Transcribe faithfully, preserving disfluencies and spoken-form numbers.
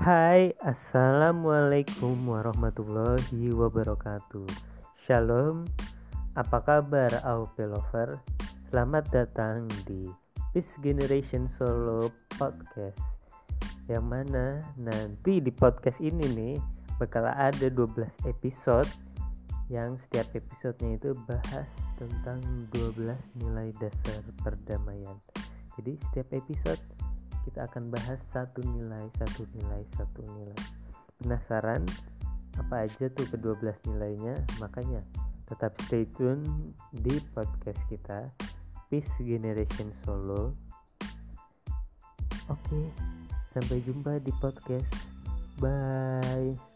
Hai, assalamualaikum warahmatullahi wabarakatuh. Shalom, apa kabar A O P Lover? Selamat datang di Peace Generation Solo Podcast. Yang mana nanti di podcast ini nih bakal ada dua belas episode, yang setiap episodenya itu bahas tentang dua belas nilai dasar perdamaian. Jadi setiap episode kita akan bahas satu nilai, satu nilai, satu nilai. Penasaran apa aja tuh kedua belas nilainya? Makanya tetap stay tune di podcast kita Peace Generation Solo. Oke, sampai jumpa di podcast. Bye.